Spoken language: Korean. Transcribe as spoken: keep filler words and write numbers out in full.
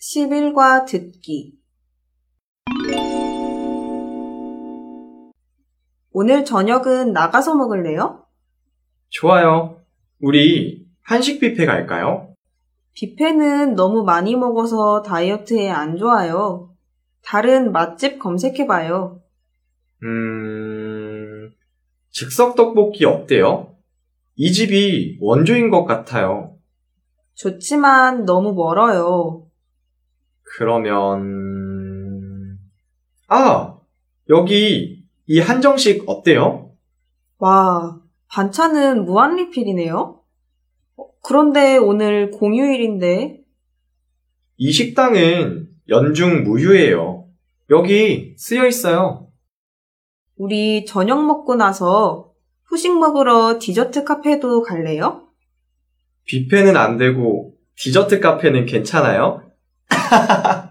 십 일과 듣기. 오늘 저녁은 나가서 먹을래요? 좋아요. 우리 한식 뷔페 갈까요? 뷔페는 너무 많이 먹어서 다이어트에 안 좋아요. 다른 맛집 검색해봐요. 음, 즉석 떡볶이 어때요? 이 집이 원조인 것 같아요. 좋지만 너무 멀어요. 그러면, 아, 여기 이 한정식 어때요? 와, 반찬은 무한리필이네요? 어, 그런데 오늘 공휴일인데 이 식당은 연중 무휴예요. 여기 쓰여 있어요. 우리 저녁 먹고 나서 후식 먹으러 디저트 카페도 갈래요? 뷔페는 안 되고 디저트 카페는 괜찮아요?